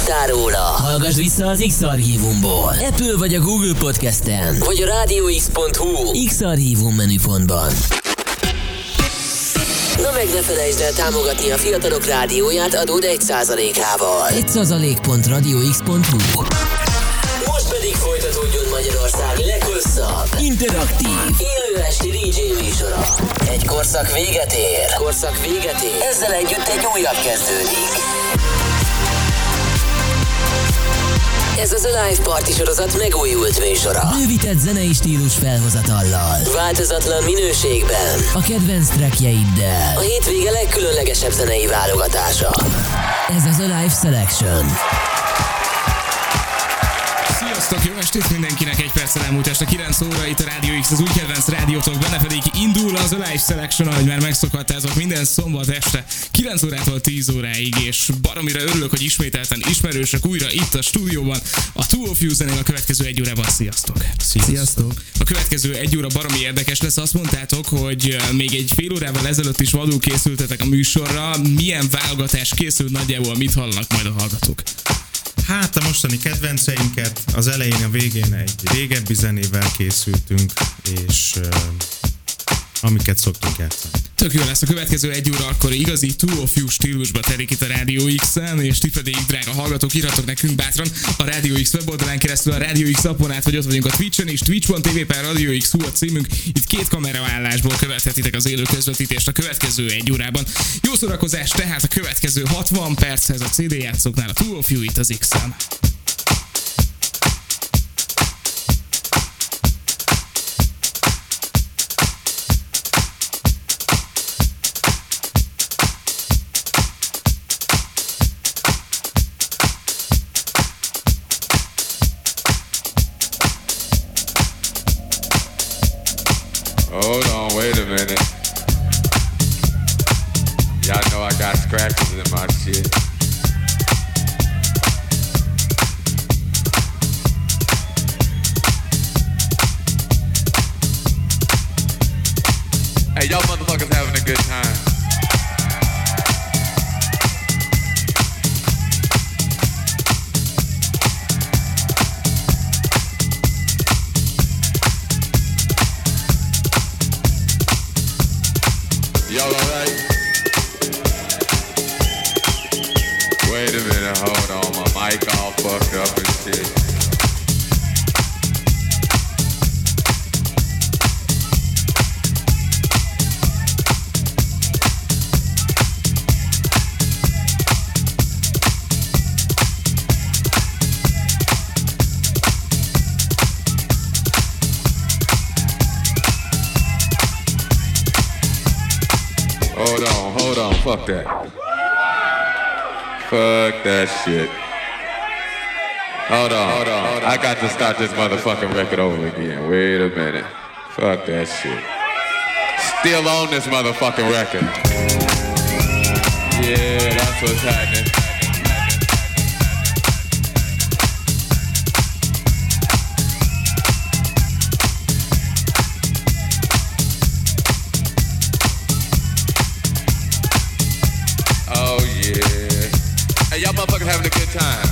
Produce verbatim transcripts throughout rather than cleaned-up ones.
hallottál róla, hallgass vissza az X-Archívumból. Apple vagy a Google Podcasten, vagy a rádió x pont hu X-Archívum menüpontban. Na meg ne felejtsd el támogatni a Fiatalok Rádióját adód egy százalékával. egy százalék pont rádió x pont hu. Most pedig folytatódjon Magyarország leghosszabb, interaktív, élő esti dé dzsé műsora. Egy korszak véget ér. Korszak véget ér. Ezzel együtt egy újabb kezdődik. Ez az Alive Party sorozat megújult műsora. Bővített zenei stílus felhozatallal. Változatlan minőségben. A kedvenc trackjeiddel. A hétvége legkülönlegesebb zenei válogatása. Ez az Alive Selection. Sziasztok, jó estét mindenkinek, egy perccel elmúlt este kilenc óra itt a Rádió X, az új kedvenc rádiótok, benne pedig indul az Alive Selection, ahogy már megszokhattátok minden szombat este kilenc órától tíz óráig, és baromira örülök, hogy ismételten ismerősök újra itt a stúdióban, a Two of You zenél a következő egy órában. Sziasztok! Sziasztok! A következő egy óra baromi érdekes lesz, azt mondtátok, hogy még egy fél órával ezelőtt is vadul készültetek a műsorra, milyen válogatás készült, nagyjából mit hallanak majd a hallgatók? Hát a mostani kedvenceinket, az elején, a végén egy régebbi zenével készültünk, és uh, amiket szoktunk játszani. Tök jó lesz, a következő egy óra akkor igazi Two of You stílusba terik itt a Rádió X-en, és ti pedig, drága hallgatók, írhatok nekünk bátran a Rádió X weboldalán keresztül, a Rádió X appon át, vagy ott vagyunk a Twitchen is, twitch pont tv per Rádió X a címünk, itt két kameraállásból követhetitek az élő közvetítést a következő egy órában. Jó szórakozás tehát a következő hatvan perchez a cé dé játszóknál, a Two of You itt az X-en. Hold on, wait a minute. Y'all know I got scratches in my shit. Hey, y'all motherfuckers having a good time. Y'all alright? Wait a minute, hold on, my mic all fucked up and shit. Hold on, hold on, fuck that. Fuck that shit. Hold on, hold on, hold on. I got to start this motherfucking record over again. Wait a minute. Fuck that shit. Still on this motherfucking record. Yeah, that's what's happening. Hey, y'all motherfuckers having a good time.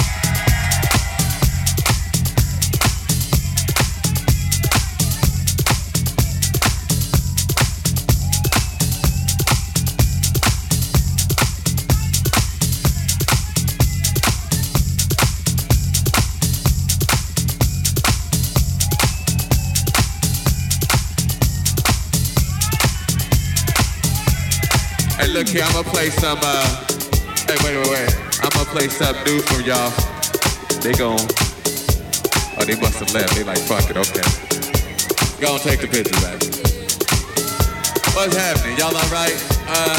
Hey, look here, I'm gonna play some, uh, Hey, wait, wait, wait. I'm gonna play something new for y'all. They gon' Oh, they must have left. They like, fuck it, okay. Go and take the picture back. What's happening? Y'all alright? Uh,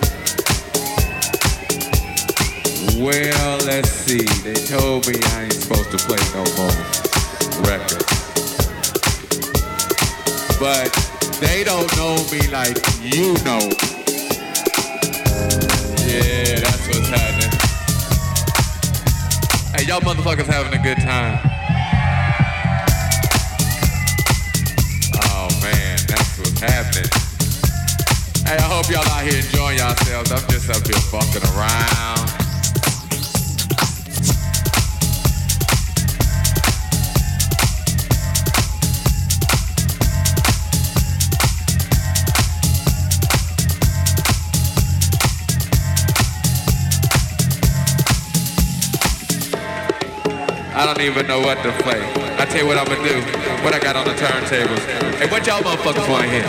well, let's see. They told me I ain't supposed to play no more records. But they don't know me like you know. Yeah, that's what's happening. Hey, y'all motherfuckers having a good time. Oh man, that's what's happening. Hey, I hope y'all out here enjoying yourselves. I'm just up here fucking around. I don't even know what to play. I tell you what I'm gonna do. What I got on the turntables. Hey, what y'all motherfuckers wanna hear?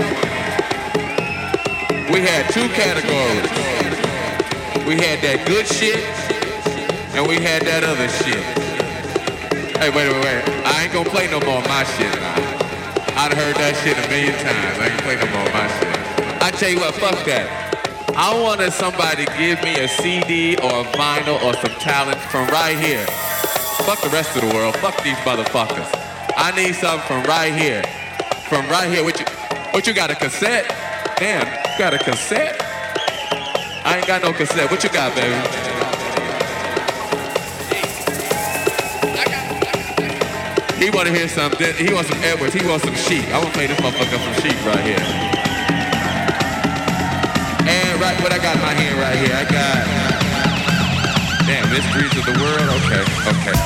We had two categories. We had that good shit, and we had that other shit. Hey, wait, wait, wait. I ain't gonna play no more of my shit now. I'd heard that shit a million times. I ain't play no more of my shit. I tell you what, fuck that. I wanted somebody to give me a C D or a vinyl or some talent from right here. Fuck the rest of the world. Fuck these motherfuckers. I need something from right here. From right here. What you, what you got, a cassette? Damn, you got a cassette? I ain't got no cassette. What you got, baby? He want to hear something. He wants some Edwards. He wants some Sheep. I want to play this motherfucker some Sheep right here. And right, what I got in my hand right here, I got, damn, Mysteries of the World. Okay, okay.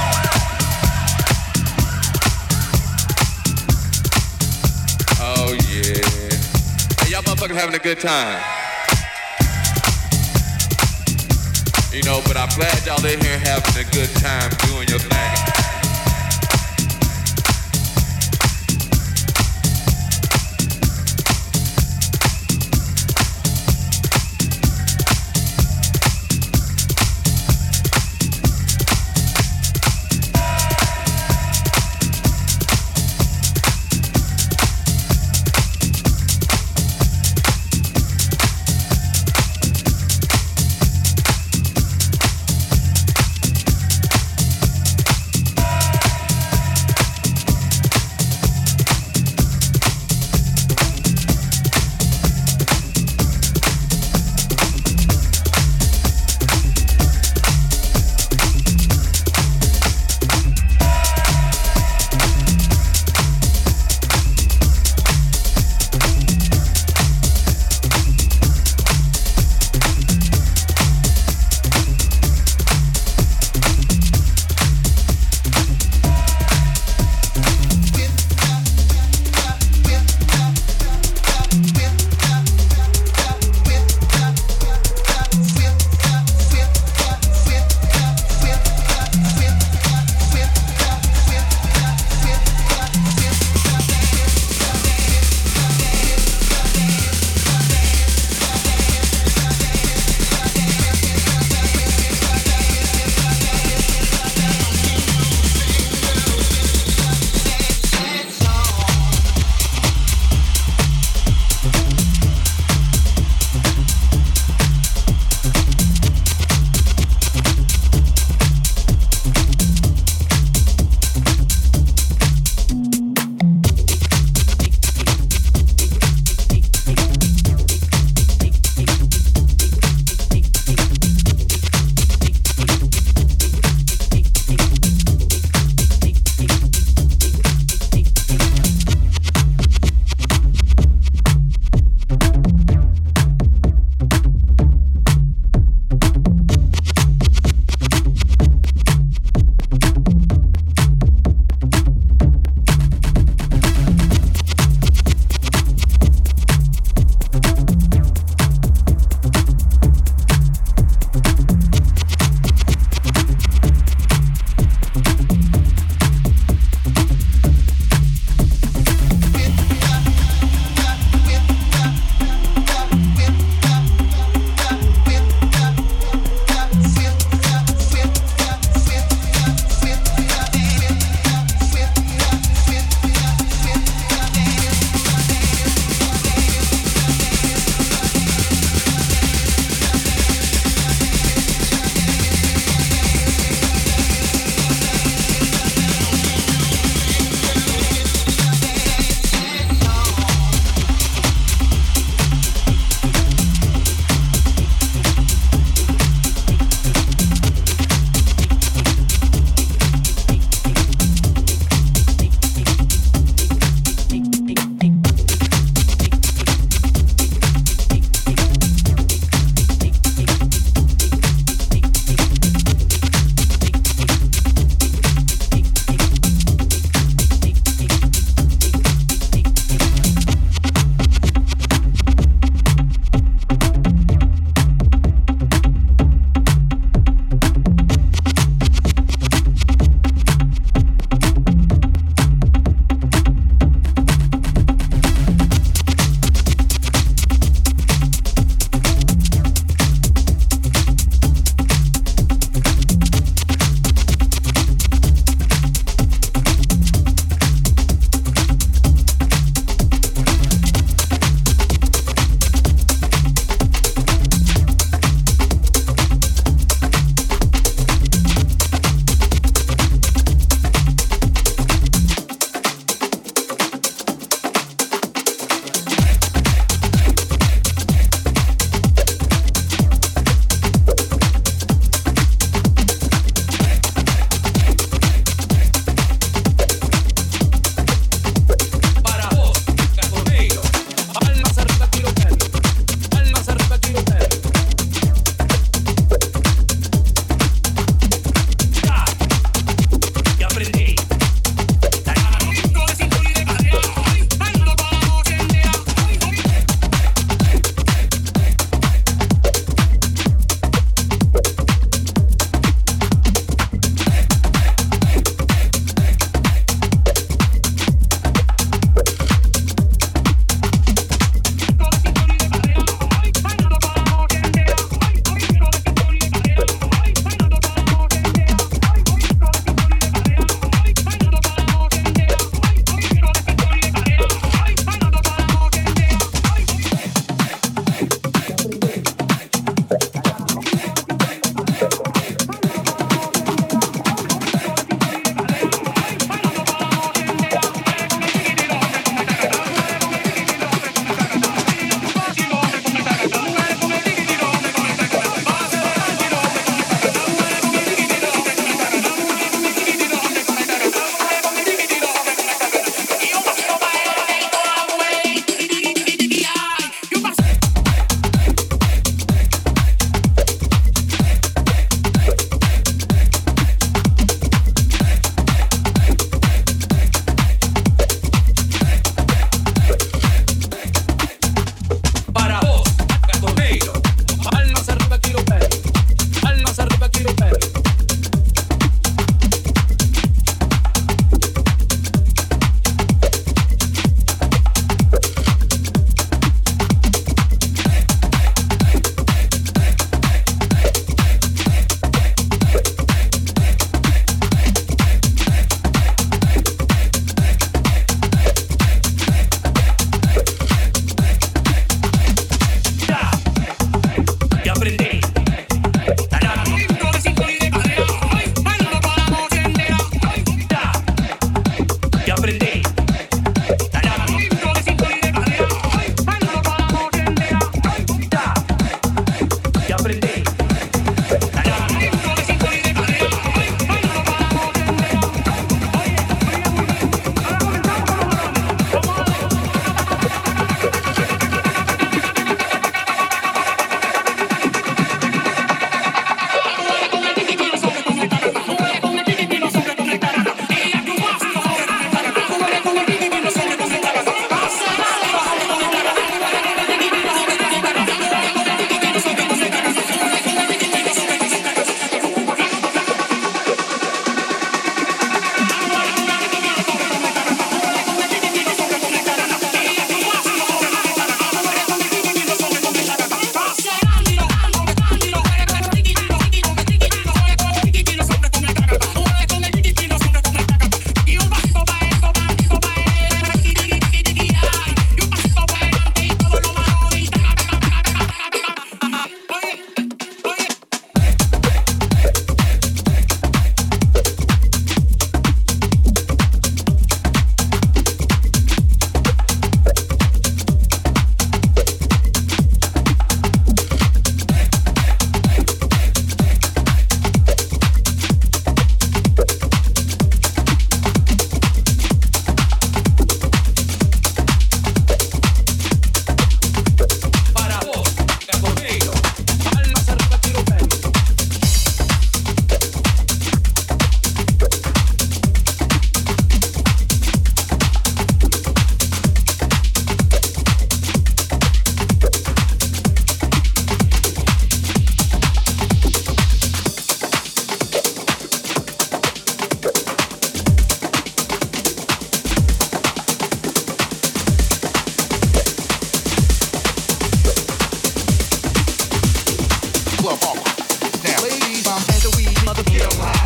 Oh yeah. Hey, y'all motherfuckers having a good time. You know, but I'm glad y'all in here having a good time doing your thing. club hardcore. Now, ladies, I'm at the weed, mother get on high.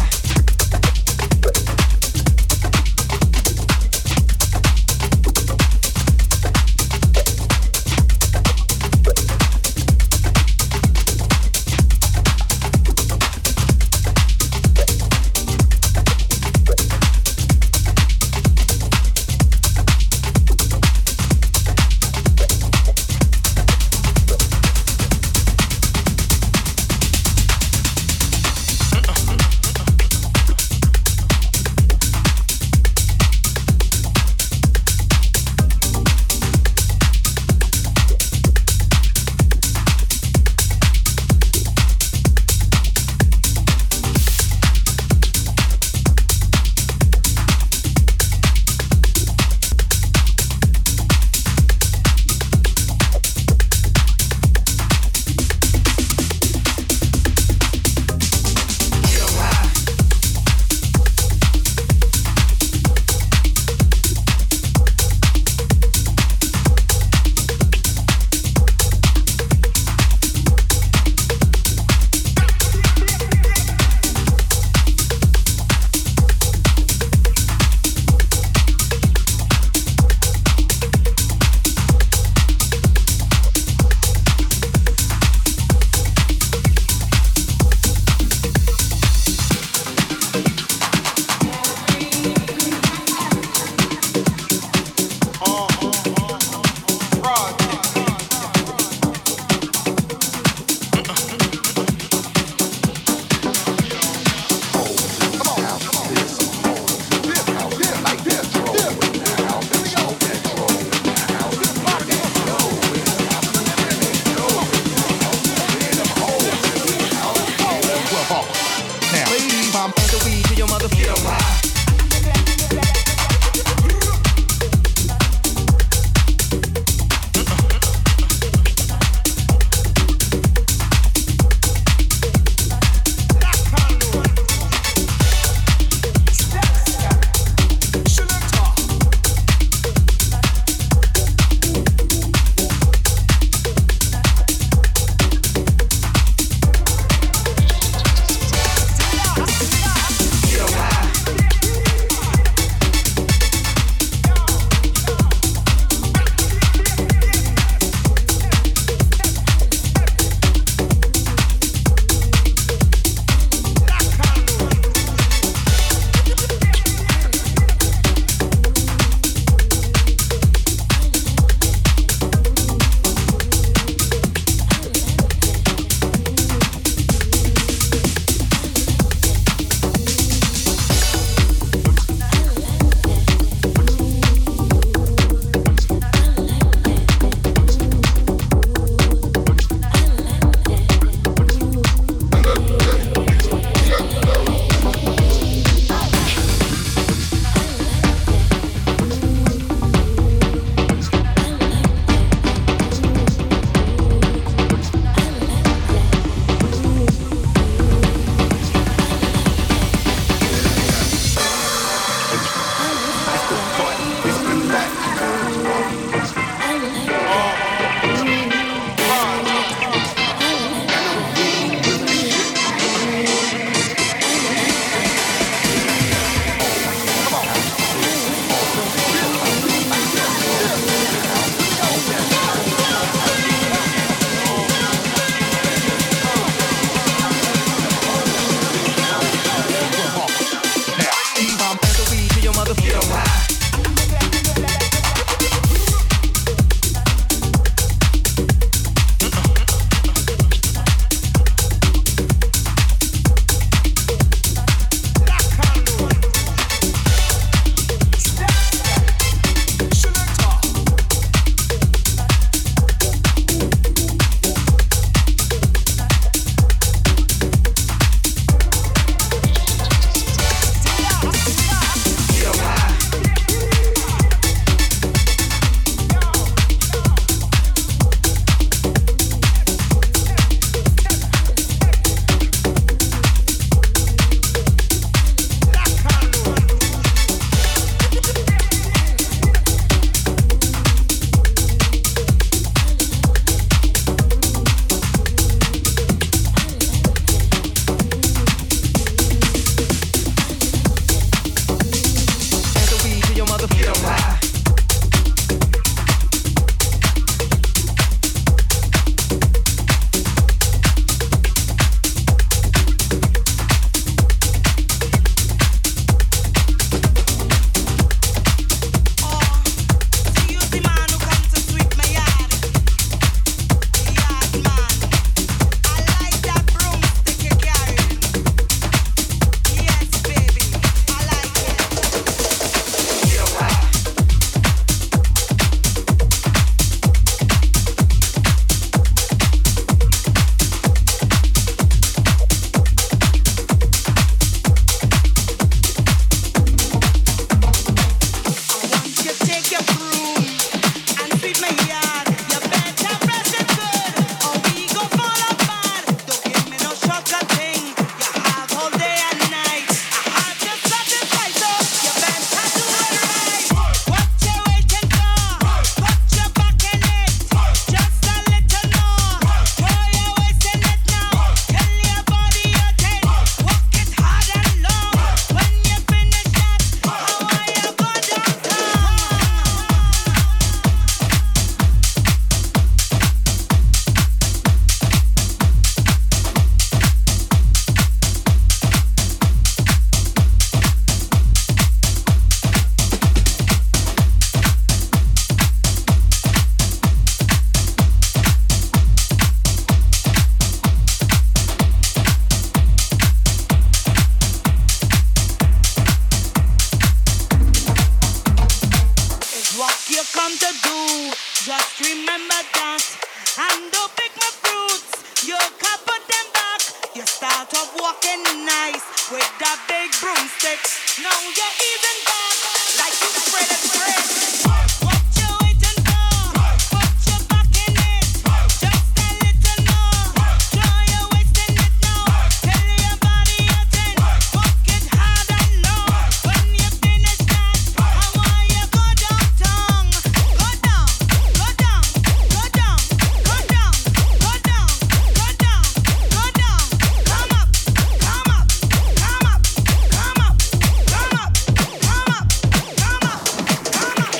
of walking nice with that big broomstick. Now you're even back like you spread it spread. What you waiting for? Put your back in it. Just a little more. Try your wasting it now. Tell your body you're ten. Walk it hard and low. When you finish that, I want you go downtown. Go down, go down, go down, go down, go down, go down, go down. Come up, come up, come up, come up, come up, come up, come up, come up.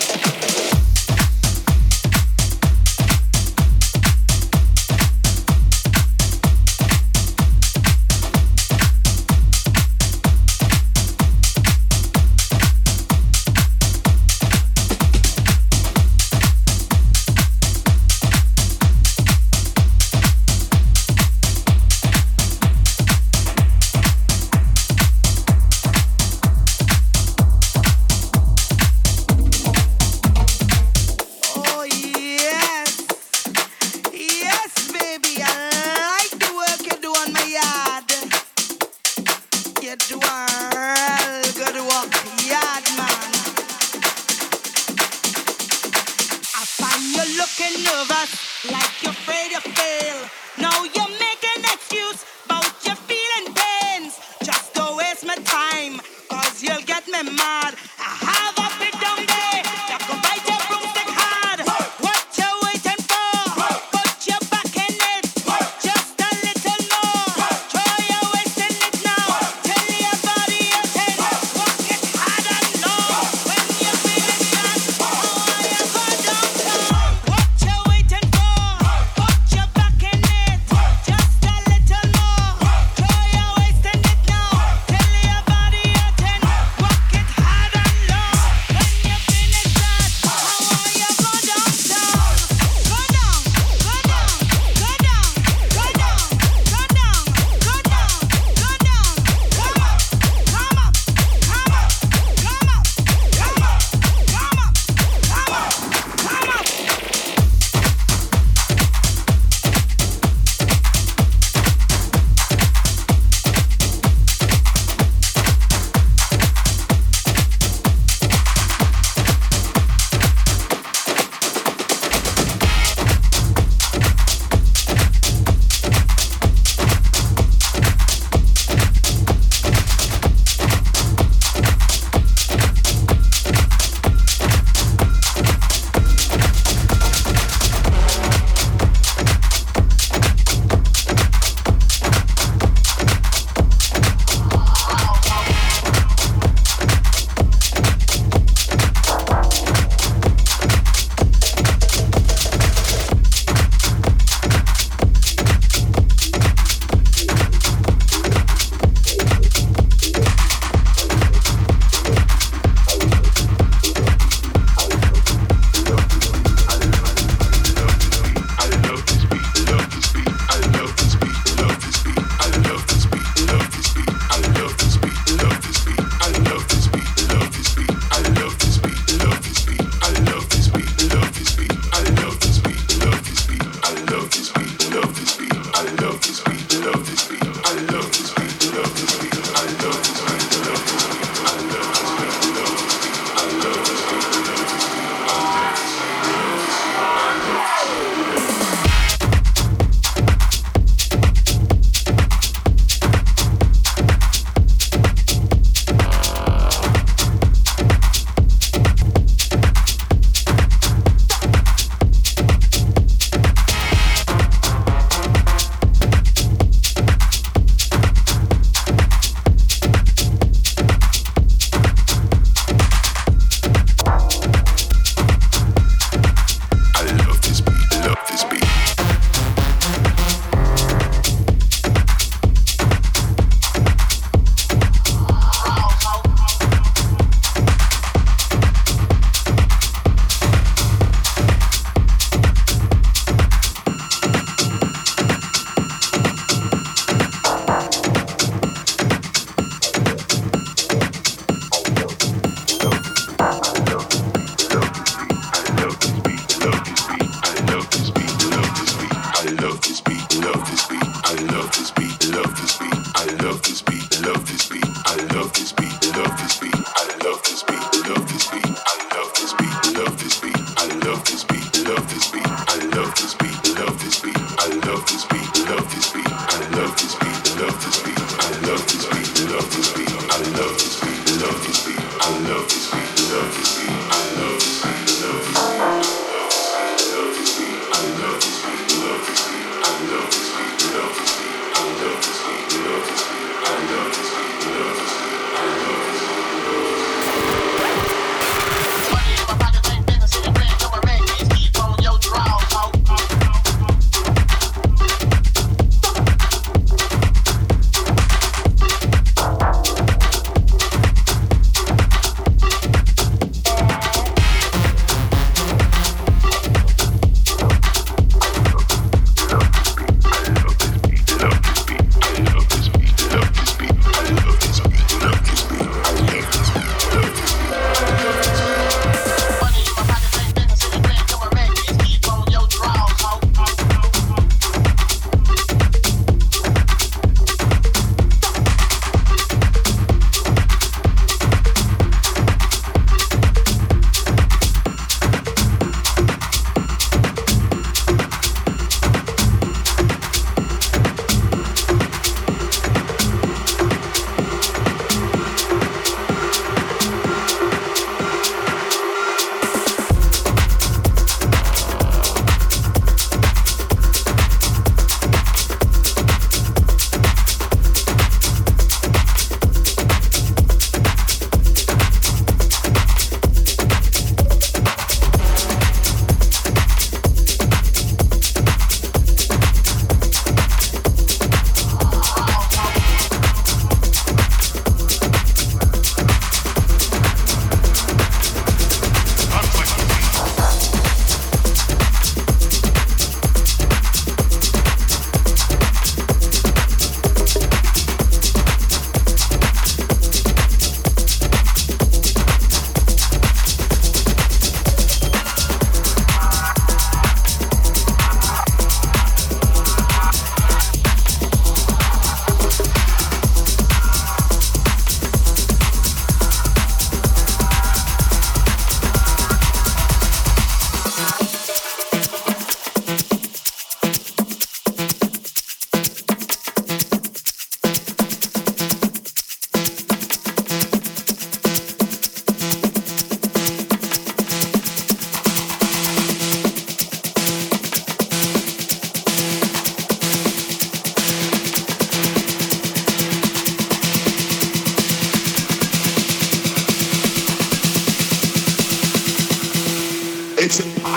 Oh yes, yes, baby, I like the work you do on my yard. You do a real good work, yard man. I find you looking nervous, like you're afraid to fail. Now you make an excuse about your feeling pains. Just don't waste my time, cause you'll get me mad. I have a big down day, you can bite your broomstick hard. What you waiting for? Put your back in it. Just a little more. Try your wasting it now. Tell your body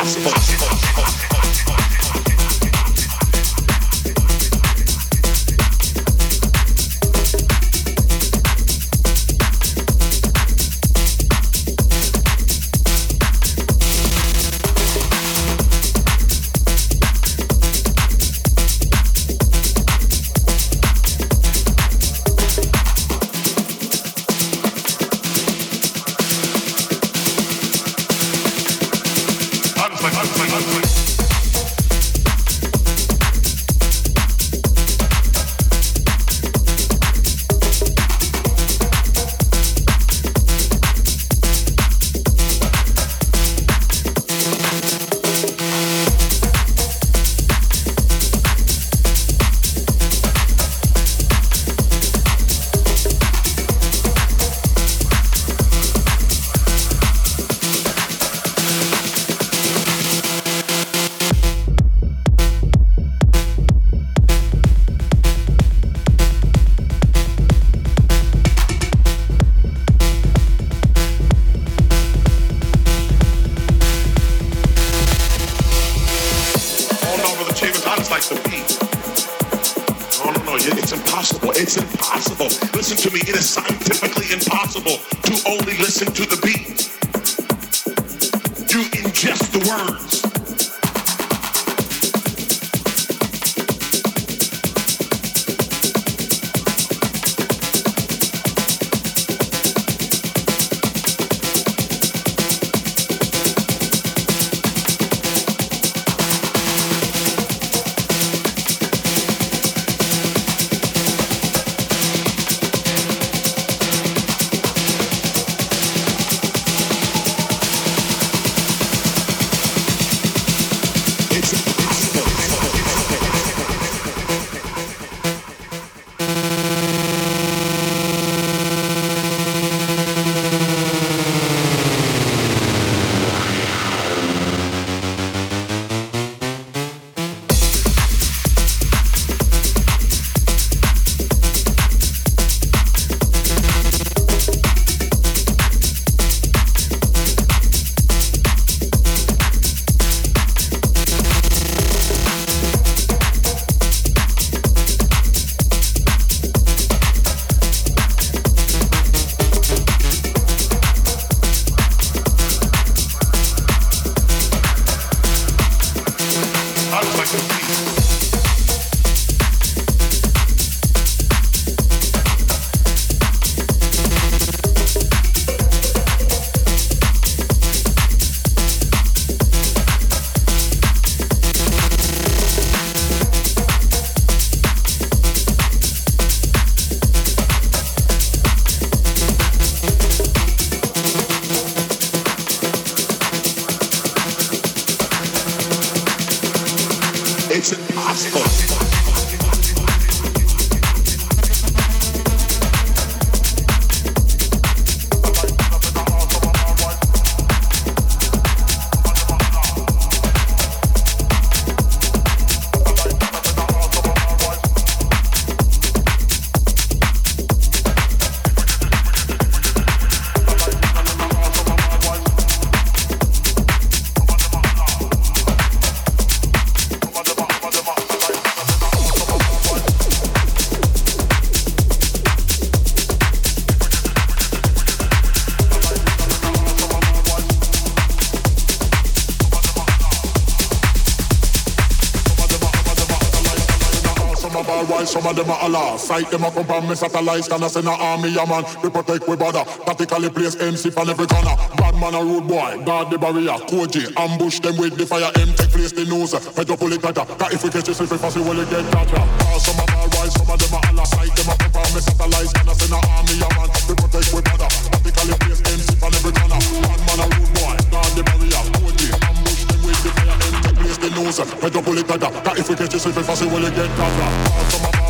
Some of them are Allah. Sight them up on me satellites. Can I send an army, a man? We protect, we bother. Tactically place M C from every corner. Bad man a rude boy. Guard the barrier. Koji. Ambush them with the fire. M take place the nose. Head up pull it tighter. Cause if we catch you slip it fast, we will get tighter. Some of them are wise. Some of them are Allah. Sight them up on me satellites. Can I send an army, a man? We protect, we bother. Tactically place M C from every corner. Bad man a rude boy. Guard the barrier. Koji. Ambush them with the fire. M take place the nose. Head up pull it tighter. Cause if we catch you slip it fast, we will get tighter. Some of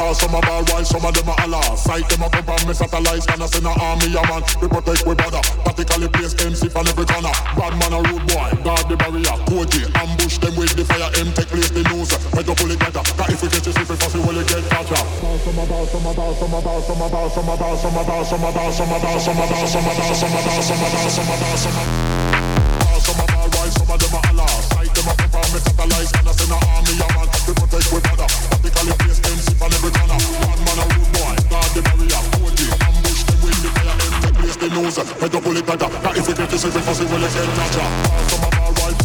toss, some a ball while some of them a holler. Sight them a come from me satellites, gonna send a army a man. We protect we brother, tactically place M C from every corner. Bad man a rude boy, guard the barrier. Koji, ambush them with the fire, M take place the news. Head up pull it better, cause if we catch you, if we fussy, will you get caught up? Some a ball, some a ball, some a ball, some a ball, some a ball, some a ball, some a ball, some a ball, some a ball, some a ball, some a ball, some a ball, some a ball, some a ball, some a ball, while some of them a holler. Sight them a come from me satellites, gonna send a army a man. We protect we brother, tactically place M C from every corner. Bad man a rude boy, guard the barrier. Koji, ambush them with the fire, M take place the news. Head up pull it better, cause if we catch you, if we fussy, will you get caught up? Some a ball, while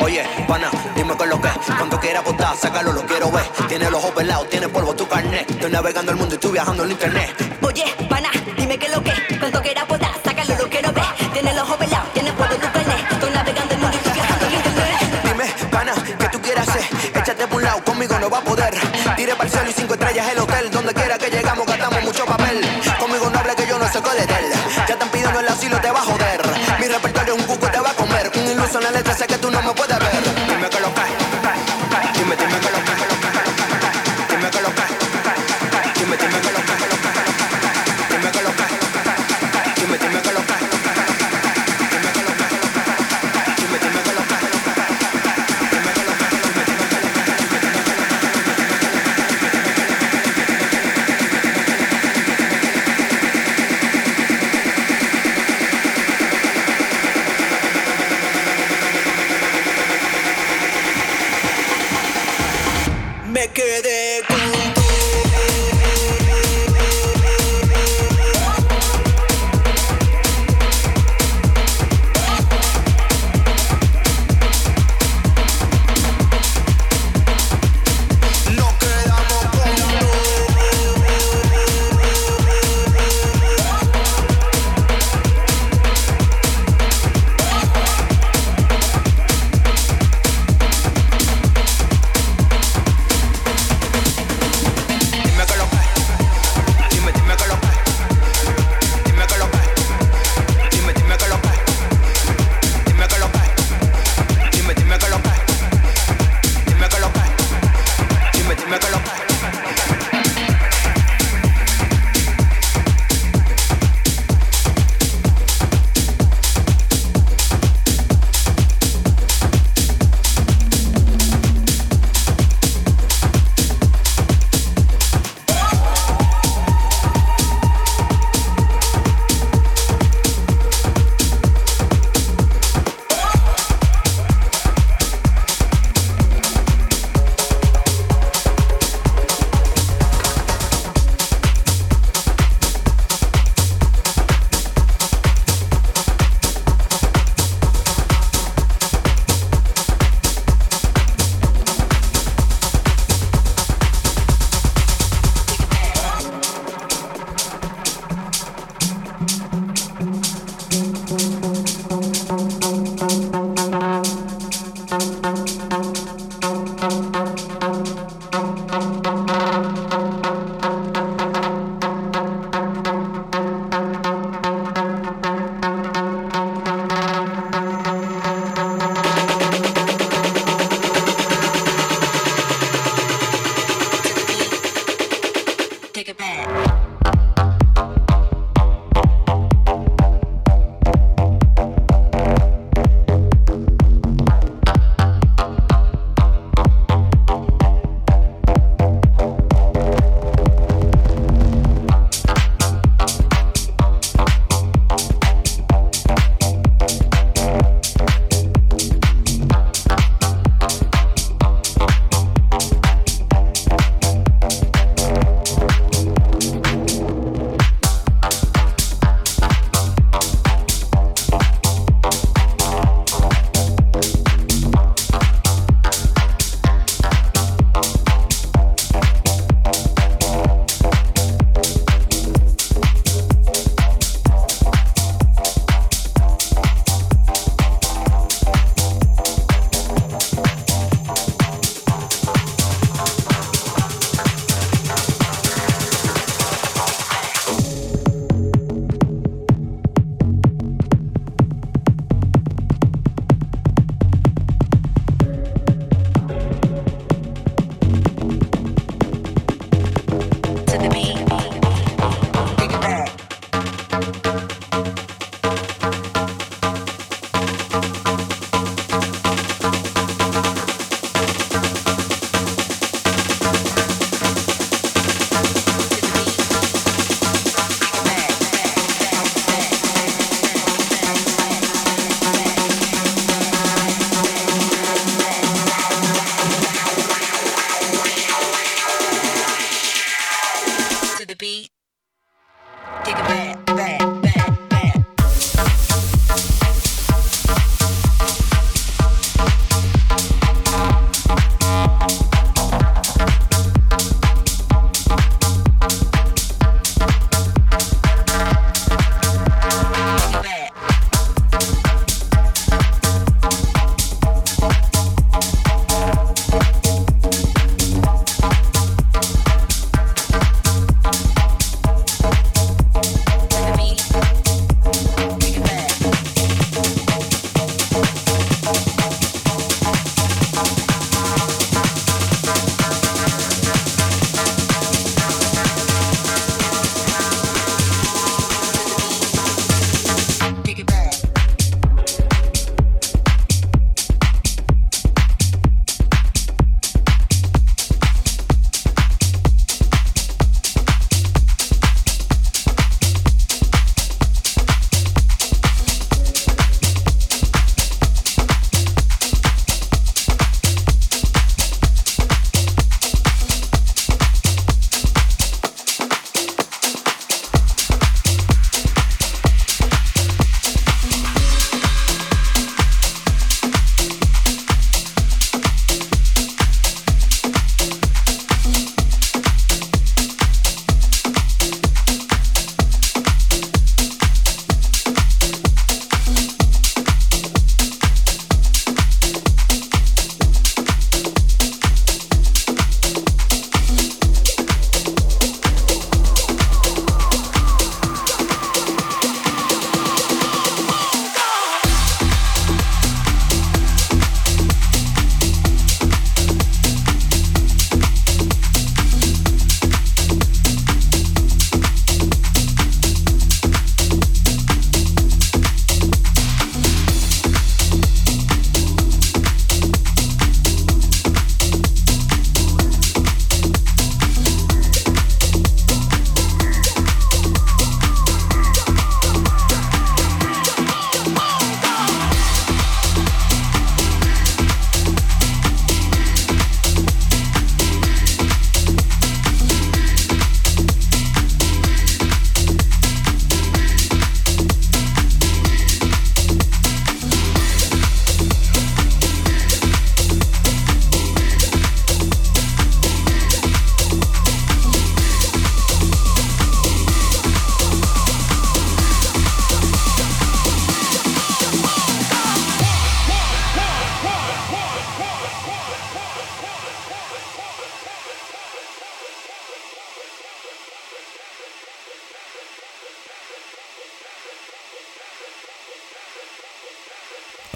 Oye, pana, dime con lo que, cuando quiera apostar, sácalo, lo quiero ver. Tiene los ojos pelados, tiene polvo tu carnet. Estoy navegando el mundo y estoy viajando en internet. Oye, pana, dime que lo que, cuando quiera apostar, sácalo, lo quiero ver. Tiene los ojos pelados, tiene polvo tu carnet. Estoy navegando el mundo y estoy viajando en internet. Dime, pana, ¿qué tú quieres hacer? Échate por un lado, conmigo no va a poder. Tire para el cielo y cinco estrellas el hotel. Donde quiera que llegamos gastamos mucho papel. Conmigo no hable que yo no sé cuál es él. Ya están pidiendo el asilo, te va a joder. Mi repertorio es un cuco, te va a comer. Un iluso en la letra, sé que tú no me puedes ver. Dime que lo que, dime, dime que lo que, dime que lo que, dime, dime que lo que, dime que lo que, dime, dime que lo que, dime que lo que, dime, dime que lo que, dime que lo que. Me quedé con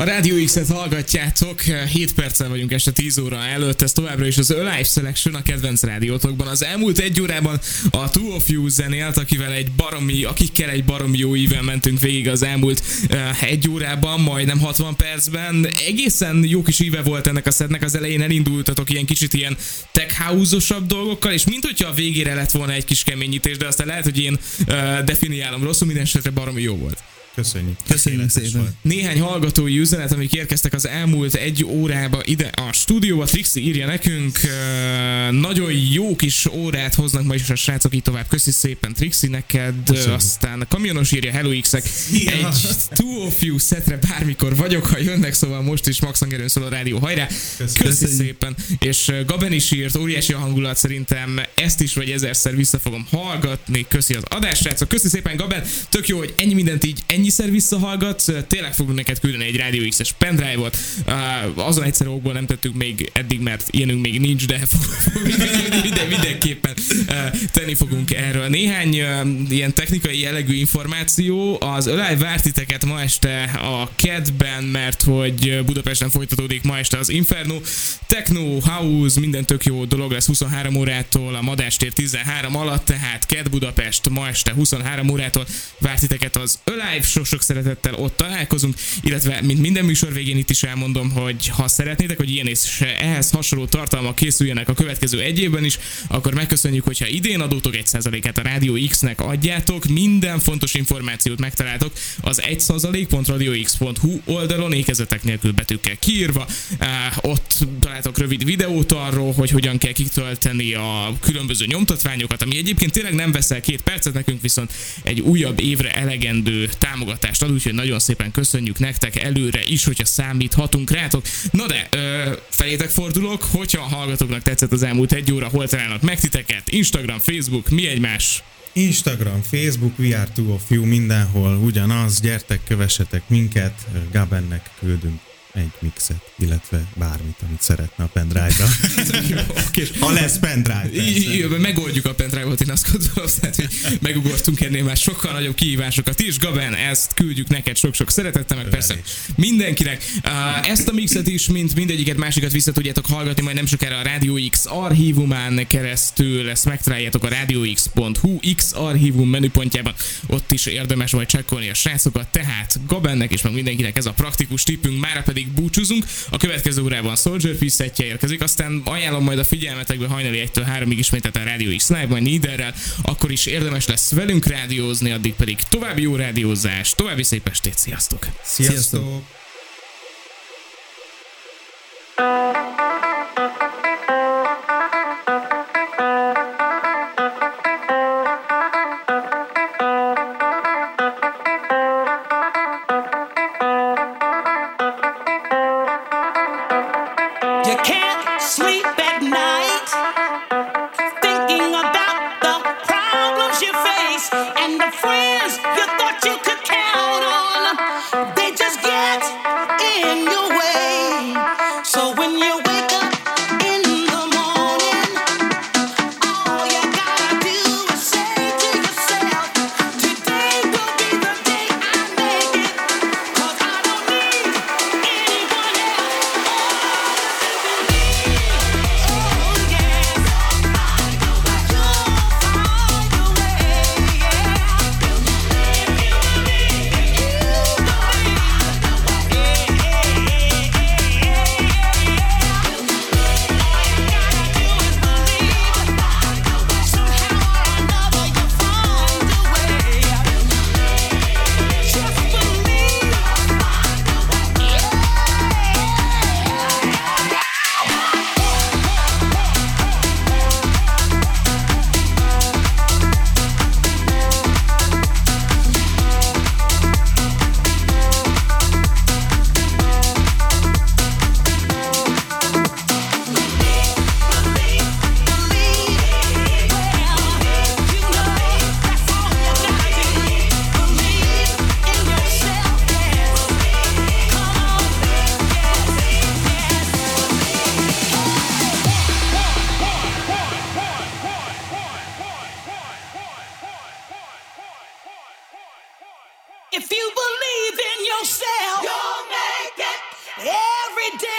A Radio X-et hallgatjátok, hét perccel vagyunk este tíz óra előtt, ez továbbra is az Alive Selection a kedvenc rádiótokban. Az elmúlt egy órában a Two of You zenélt, akivel egy baromi, akikkel egy baromi jó íven mentünk végig az elmúlt uh, egy órában, majdnem hatvan percben. Egészen jó kis íve volt ennek a setnek, az elején elindultatok ilyen kicsit ilyen tech house-osabb dolgokkal, és mint hogyha a végére lett volna egy kis keményítés, de aztán lehet, hogy én uh, definiálom rosszul, minden esetre baromi jó volt. Köszönjük. Köszönjük szépen. Néhány hallgatói üzenet, amik érkeztek az elmúlt egy órába ide a stúdióba. Trixi írja nekünk, uh, nagyon jó kis órát hoznak ma is a srácok, így tovább. Köszi szépen Trixi neked. Köszönjük. Aztán a kamionos írja, hello X-ek. Ja. Egy Two of You szetre bármikor vagyok, ha jönnek, szóval most is Max hangerőn szól a rádió, hajrá. Köszi, Köszi szépen. És Gaben is írt, óriási a hangulat, szerintem ezt is vagy ezerszer vissza fogom hallgatni. Köszi az adás, srácok. Köszi szépen Gaben, tök jó, hogy ennyi mindent így ennyiszer visszahallgatsz, tényleg fogunk neked küldeni egy Radio X-es pendrive-ot. Uh, azon egyszer okból nem tettük még eddig, mert ilyenünk még nincs, de fogunk minden, mindenképpen uh, tenni fogunk erről. Néhány uh, ilyen technikai jellegű információ. Az Alive vár titeket ma este a kedben, mert hogy Budapesten folytatódik ma este az Inferno. Techno, house, minden tök jó dolog lesz huszonhárom órától, a Madástér tizenhárom alatt, tehát Ked Budapest ma este huszonhárom órától vár titeket az Alive, sok szeretettel ott találkozunk, illetve mint minden műsor végén itt is elmondom, hogy ha szeretnétek, hogy ilyen és ehhez hasonló tartalmak készüljenek a következő egy évben is, akkor megköszönjük, hogyha idén adótok egy százalékát a Radio X-nek adjátok, minden fontos információt megtaláltok az egy százalék pont radio x pont hu oldalon, ékezetek nélkül betűkkel kiírva, uh, ott találtok rövid videót arról, hogy hogyan kell kitölteni a különböző nyomtatványokat, ami egyébként tényleg nem veszel két percet, nekünk viszont egy újabb évre elegendő támogatást ad, úgyhogy nagyon szépen köszönjük nektek előre is, hogyha számíthatunk rátok. Na de, ö, felétek fordulok, hogyha a hallgatóknak tetszett az elmúlt egy óra, hol találnak meg titeket? Instagram, Facebook, mi egymás? Instagram, Facebook, We Are Two of You, mindenhol ugyanaz, gyertek, kövessetek minket, Gabennek küldünk egy mixet, illetve bármit, amit szeretne a pendrive-ra. Ha lesz pendrive. I- megoldjuk a pendrive-ot, én azt gondolom, tehát, hogy megugortunk ennél már sokkal nagyobb kihívásokat is. Gaben, ezt küldjük neked sok-sok szeretettel, meg persze mindenkinek. Uh, ezt a mixet is, mint mindegyiket másikat vissza tudjátok hallgatni, majd nem sokára a Radio X archívumán keresztül, ezt megtaláljátok a radio x pont hu X archívum menüpontjában, ott is érdemes majd csekkolni a srácokat, tehát Gabennek és meg mindenkinek ez a praktikus tippünk, mára pedig búcsúzunk. A következő órában Soldier Peace szettje érkezik, aztán ajánlom majd a figyelmetekbe hajnali egytől háromig ismételten a Radio X Live, majd Niederrel, akkor is érdemes lesz velünk rádiózni, addig pedig további jó rádiózás, további szép estét, sziasztok! Sziasztok! Sziasztok. If you believe in yourself, you'll make it.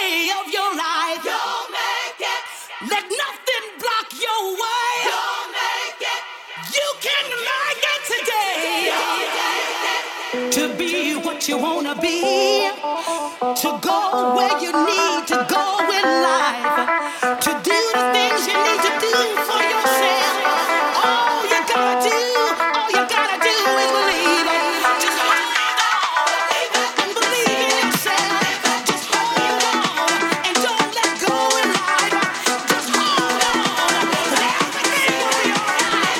day of your life. You'll make it. Let nothing block your way. You'll make it. You can make it today. You'll make it. To be what you wanna be. To go where you need to go in life. To do the things you need to do for yourself. All you gotta do, all you gotta do is believe it. Just hold on and believe in yourself. Just hold on and don't let go in life. Just hold on and everything will be alright.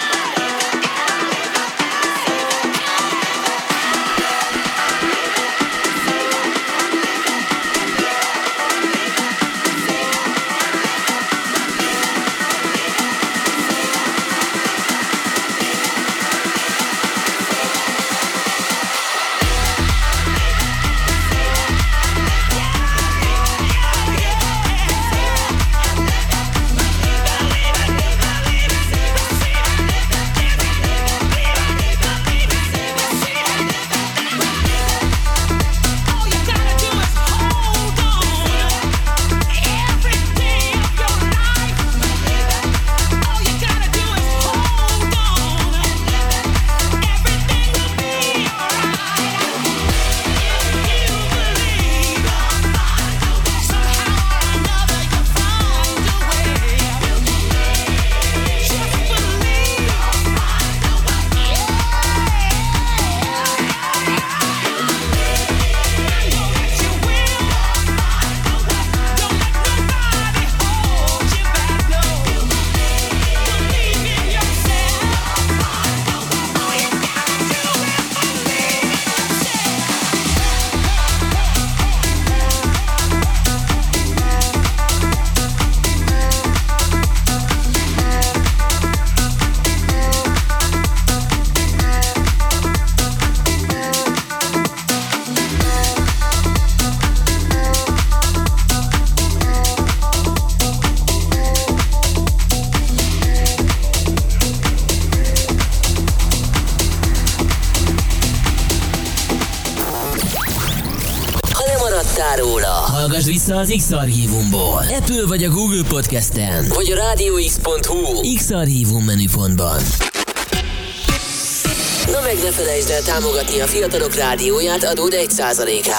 All you gotta do is hold on every day of your life. All you gotta do is hold on. Everything will be alright. If you believe, somehow or another you'll find a way. Just believe. Ha lemaradtál róla, hallgass vissza az X-Archívumból. Apple vagy a Google Podcasten, vagy a rádióx pont hu X-Archívum menüpontban. Na meg ne felejtsd el támogatni a Fiatalok Rádióját adód egy százalékával.